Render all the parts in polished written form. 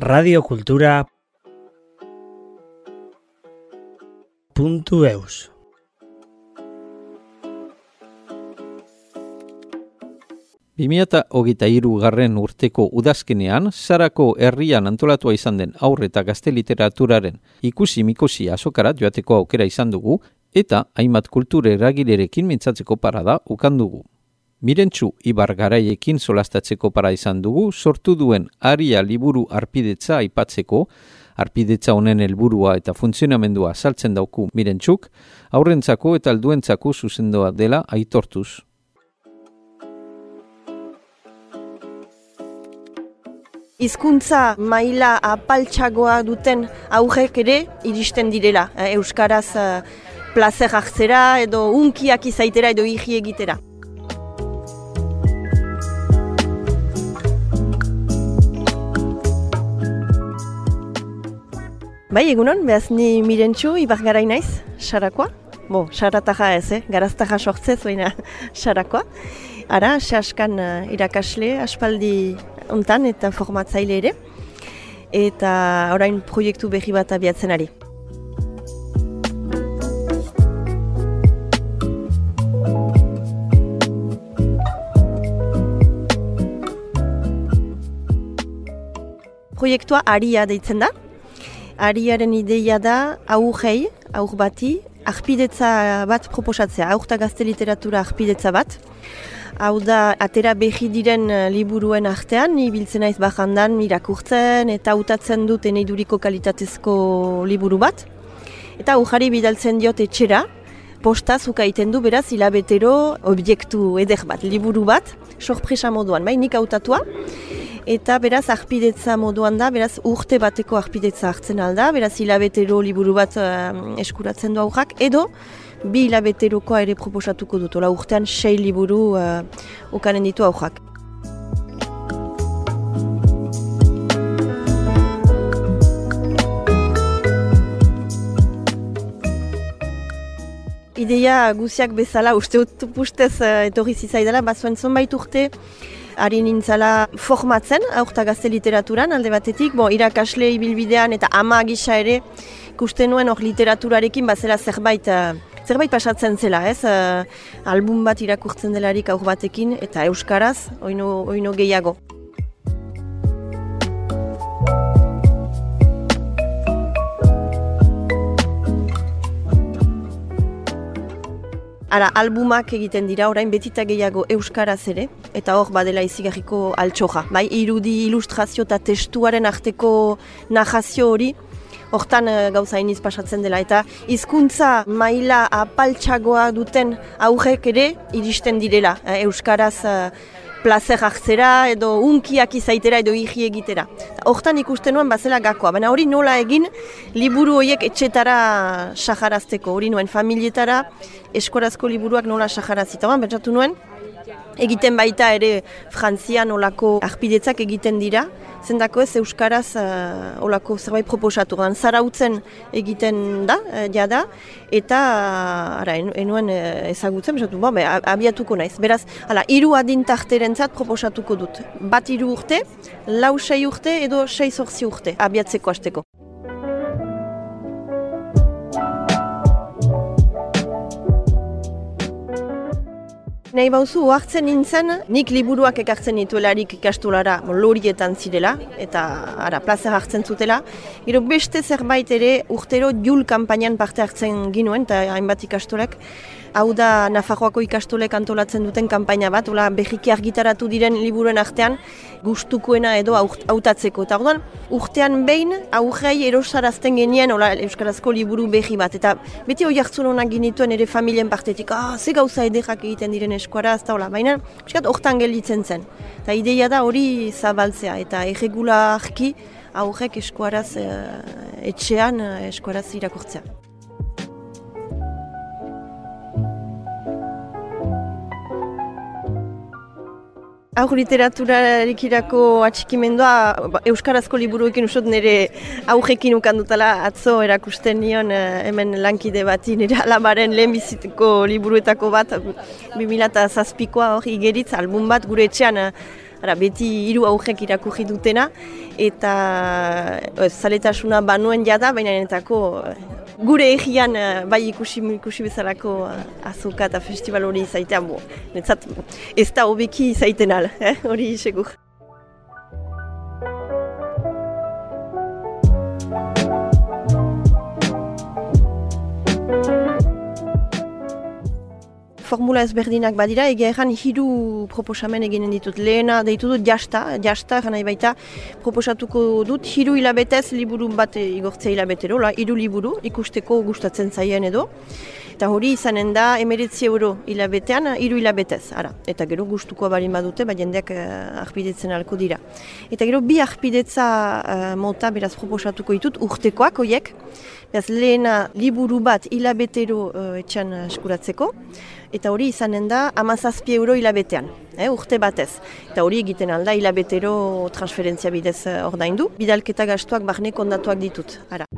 radiokultura.eus. Garren urteko udazkenean, Sarako herrian antolatua izan den haur eta gazte literaturaren ikusi-mikusi azokara joateko aukera izan dugu, eta hainbat kultura eragilerekin mintzatzeko parada ukan dugu. Mirentxu Ibar Garaiekin solastatzeko para izan dugu, sortu duen Aria liburu arpidetza aipatzeko, arpidetza honen helburua eta funtzionamendua azaltzen dauku Mirentxuk, haurrentzako eta helduentzako zuzendoa dela aitortuz. Hizkuntza maila apaltxagoa duten aurrek ere iristen direla. Euskaraz plazer hartzera edo unkiak izaitera edo hiri egitera. Bai, egunon, behaz ni Mirentxu Ibar Garai naiz, Sarakoa. Sarataja ez, garaztaja sortzez, baina Sarakoa. Ara, saskan irakasle, aspaldi hontan eta formatzaile ere. Eta orain proiektu berri bat abiatzen ari. Proiektua Aria deitzen da. Ariaren ideia da aur bati, arpidetza bat proposatzea, aur eta gazte literatura arpidetza bat. Hau da, atera berri diren liburuen artean, ni biltzen naiz bajandan irakurtzen eta hautatzen dut eneiduriko kalitatezko liburu bat. Eta aujari bidaltzen diot etxera, postaz ukaiten du beraz hilabetero objektu eder bat, liburu bat, sorpresa moduan, bai nik hautatua. Eta beraz arpidetza moduan da, beraz urte bateko arpidetza hartzen alda, beraz hilabetero liburu bat eskuratzen du aurrak, edo 2 hilabeterokoa ere proposatuko dut, ola urtean 6 liburu ukanen ditu aurrak. Ideia guziak bezala, uste pustez etorri zizaidala, bazuen zonbait urte, ari nintzala formatzen, aur eta gazte literaturan, alde batetik, irakasle ibilbidean eta ama gisa ere, ikusten nuen hor literaturarekin bazela zerbait pasatzen zela, ez? Album bat irakurtzen delarik aur batekin eta euskaraz, oino gehiago. Ara, albumak egiten dira, orain betita gehiago euskaraz ere, eta hor badela izigarriko altxoja. Bai, irudi, ilustrazio eta testuaren arteko narrazio hori, hortan gauza iniz pasatzen dela. Eta hizkuntza maila apaltxagoa duten aurrek ere iristen direla. Euskaraz plazer hartzera edo unkiak izaitera edo hiri egitera. Hortan ikusten nuen bazela gakoa, baina hori nola egin liburu horiek etxetara saharazteko. Hori nuen familietara eskorazko liburuak nola saharazita. Pentsatu nuen, egiten baita ere Frantzian olako arpidetzak egiten dira, zendako ez euskaraz olako zerbait proposatu. Zarautzen egiten da, jada, eta enuen ezagutzen, abiatuko naiz. Beraz, 3 adintarterentzat proposatuko dut. Bat 3 urte, 4-6 urte edo 6-8 urte abiatzeko hasteko. Nahi bauzu, ohartzen nintzen, nik liburuak ekartzen nituelarik ikastolara lorietan zirela, eta plazer hartzen zutela. Gero beste zerbait ere urtero Jul kanpainan parte hartzen ginuen, eta hainbat ikastolek. Hau da Nafarroako ikastolek antolatzen duten kanpaina bat, berriki argitaratu diren liburuen artean gustukoena edo hautatzeko. Eta orduan, urtean behin aurrei erosarazten genien euskarazko liburu berri bat. Eta beti hori hartzun honak ginituen ere familien partetik, ze gauza ederrak egiten diren eskuaraz, eta baina hortan gelditzen zen. Eta ideia da hori zabaltzea, eta erregularki aurrek eskuaraz etxean eskuaraz irakurtzea. Aur literaturarikirako atxikimendua euskarazko liburuekin usot nire aurrekin ukandutala atzo erakusten nion hemen lankide bati nire alabaren lehenbiziteko liburuetako bat 2007koa hor igeritz album bat gure etxean beti 3 aurrek irakurri dutena, eta zaletasuna banuen jada, baina enetako gure egian bai ikusi bezalako azoka eta festival hori izaitea, netzat ez da hobeki izaiten al, hori segur. Formula ezberdinak badira, egia erran 3 proposamen eginen ditut. Lehena deitu dut jasta gana baita proposatuko dut 3 hilabetez liburu bat igortzea hilabetero, 3 liburu ikusteko gustatzen zaien edo. Eta hori izanen da 19 euro hilabetean 3 hilabetez. Eta gero gustukoa barin badute, jendeak arpidetzen alko dira. Eta gero 2 arpidetza mota beraz proposatuko ditut urtekoak hoiek. Beraz lehena liburu bat hilabetero etxan eskuratzeko. Eta hori izanen da 17 euro hilabetean, urte batez. Eta hori egiten alda hilabetero transferentzia bidez ordaindu. Bidalketa gastuak barne kondatuak ditut.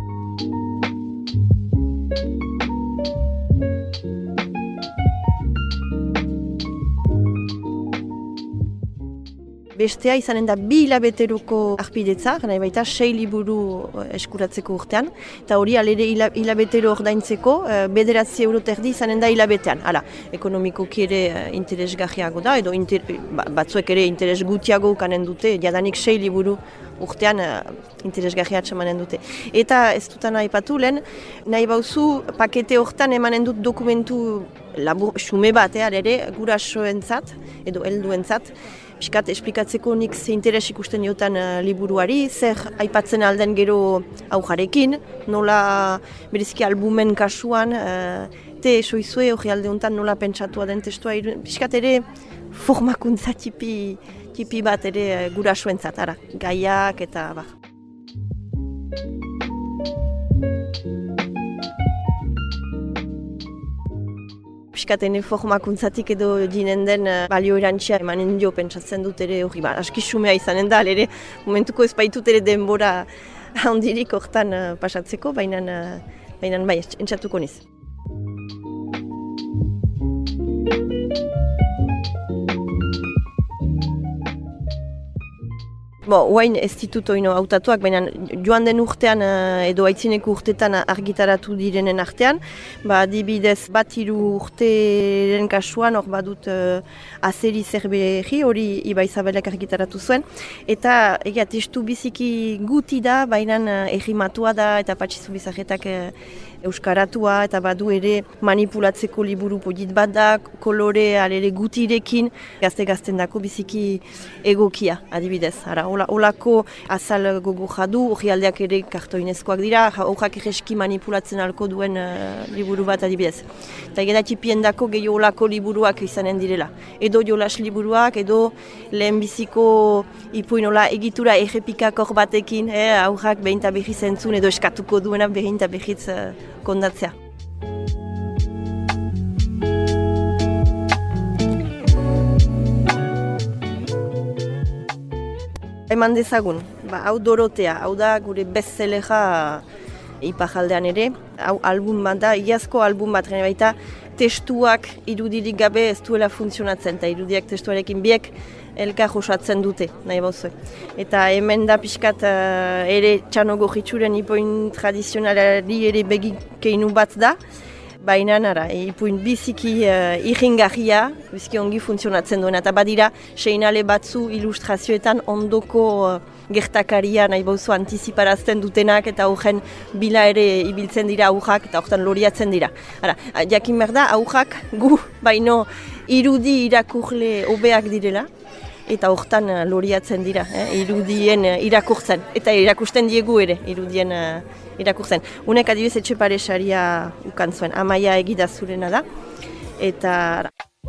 Bestea izanen da 2 hilabeteroko arpidetza, gana baita 6 liburu eskuratzeko urtean, eta hori alere hilabetero ordaintzeko 9 euro terdi izanen da hilabetean. Ekonomikoki ere interesgarriago da, edo batzuek ere interes gutiago ukanen dute, jadanik 6 liburu urtean interesgarria atxamanen dute. Eta ez dutan aipatu lehen, nahi bauzu pakete hortan emanen dut dokumentu labur, xume bat, ere gurasoentzat edo helduentzat, piskat esplikatzeko nik ze interes ikusten diotan liburuari, zer aipatzen alden gero aujarekin, nola bereziki albumen kasuan, te esoizue hori alde honetan nola pentsatua den testua, piskat ere formakuntza tipi bat ere gurasoentzat, gaiak eta bar. Piskatene formakuntzatik edo dinen den balio erantxia emanen dio pentsatzen dut ere hori, aski xumea izanen da, ere momentuko ez baitut ere denbora handirik hortan pasatzeko, baina bai, entzatuko niz. Oain ez ditut oino hautatuak, baina joan den urtean edo aitzineko urtetan argitaratu direnen artean, adibidez 1-3 urteren kasuan hor badut azeri zerberi hori Ibai Zabelek argitaratu zuen, eta egia testu biziki guti da, baina errimatua da eta Patxi Zubizagetak euskaratua eta badu ere manipulatzeko liburu polit bat da, kolore alere gutirekin, gazte-gazten dako biziki egokia adibidez. Olako azal gogo jadu, hori aldeak ere kartoinezkoak dira, horrak egeski manipulatzen alko duen liburu bat adibidez. Eta egeda txipien dako gehiago olako liburuak izanen direla. Edo jolas liburuak, edo lehenbiziko ipuinola egitura errepikakor batekin, aurrak behin eta behiz entzun, edo eskatuko duena behin eta behiz kondatzea. Eman dezagun, hau Dorotea, hau da gure bestsellera iparaldean ere, hau album bat da, iazko album bat, gane baita testuak irudirik gabe ez duela funtzionatzen, eta irudiak testuarekin biek elkar osatzen dute, nahi bauzu. Eta hemen da pixkat ere txanogo jitsuren ipuin tradizionalari ere begikeinu bat da, baina ipuin biziki irringarria, biziki ongi funtzionatzen duena, eta badira seinale batzu ilustrazioetan ondoko gertakaria nahi bauzu antiziparazten dutenak, eta horren bila ere ibiltzen dira aurrak, eta horretan loriatzen dira. Jakin behar da, aurrak gu baino irudi irakurle hobeak direla, eta horretan loriatzen dira, irudien irakurtzen, eta irakusten diegu ere, irudien irakurtzen. Unek adibidez Etxepare saria ukan zuen, Amaia Egidazurena da, eta...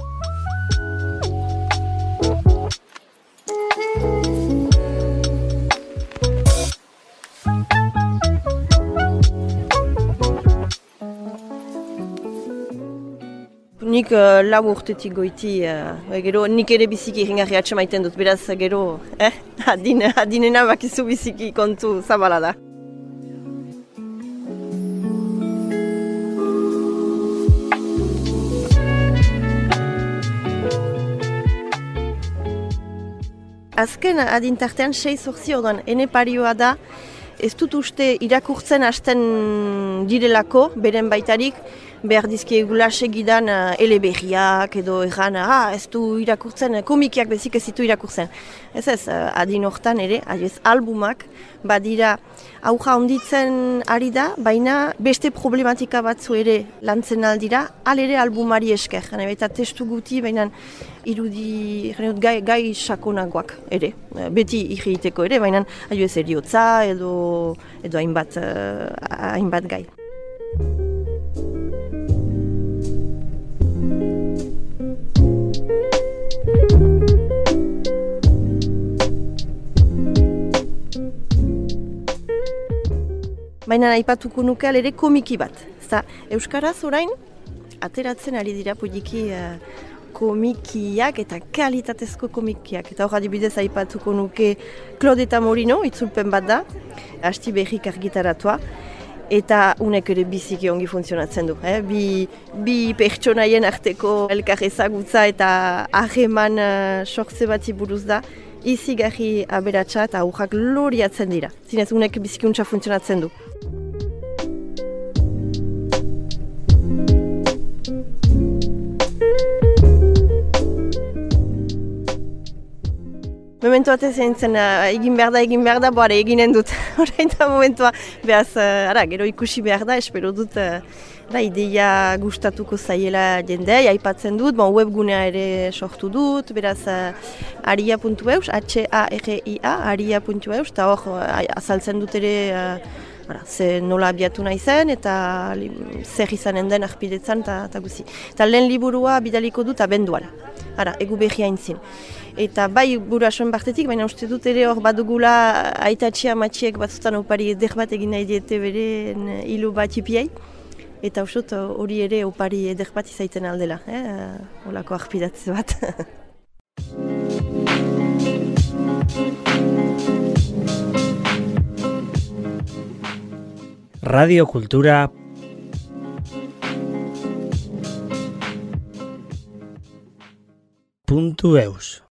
Nik lau urtetik goiti, gero nik ere biziki irringarri atxamaiten dut, beraz gero adinena bakizu biziki kontu zabala da. Azken adintartean 6-8 orduan, ene parioa da, ez dut uste irakurtzen hasten direlako, beren baitarik, behar dizkiegula segidan eleberriak edo erran, ez du irakurtzen, komikiak bezik ez ditu irakurtzen. Ez, adin hortan ere, albumak, badira auja onditzen ari da, baina beste problematika batzu ere lantzen aldira, ere albumari esker. Eta testu guti, baina irudi gai sakonagoak ere, beti irriteko ere, baina ez eriotza edo hainbat gai. Baina aipatuko nuke ere komiki bat. Euskaraz orain, ateratzen ari dira poliki komikiak eta kalitatezko komikiak. Eta hor adibidez aipatuko nuke Claude eta Morino, itzulpen bat da, hasti berrik argitaratua. Eta unek ere biziki ongi funtzionatzen du. Bi pertsonaien arteko elkar ezagutza eta harreman sortze bati buruz da. Izigarri aberatsa eta aurrak loriatzen dira. Zinez unek biziki untsa funtzionatzen du. Momentu batez zintzen, egin behar da, boare eginen dut. Horain da momentua, behaz, gero ikusi behar da, espero dut, ideia gustatuko zaiela jendea, aipatzen dut, webgunea ere sortu dut, beraz, aria.eus, H-A-R-I-A, aria.eus, eta hor, azaltzen dut ere, ze nola abiatu nahi zen, eta zer izanen den arpidetzan, eta guzi. Eta lehen liburua bidaliko dut abenduan, egu behia intzin. Eta bai gurasoen partetik, baina uste dut ere hor badugula aitatxia amatxiek batzutan opari eder bat egin nahi diete beren hilu bat ipiai. Eta uste dut hori ere opari eder bat izaiten aldela, holako arpidatze bat. Radio Kultura .eus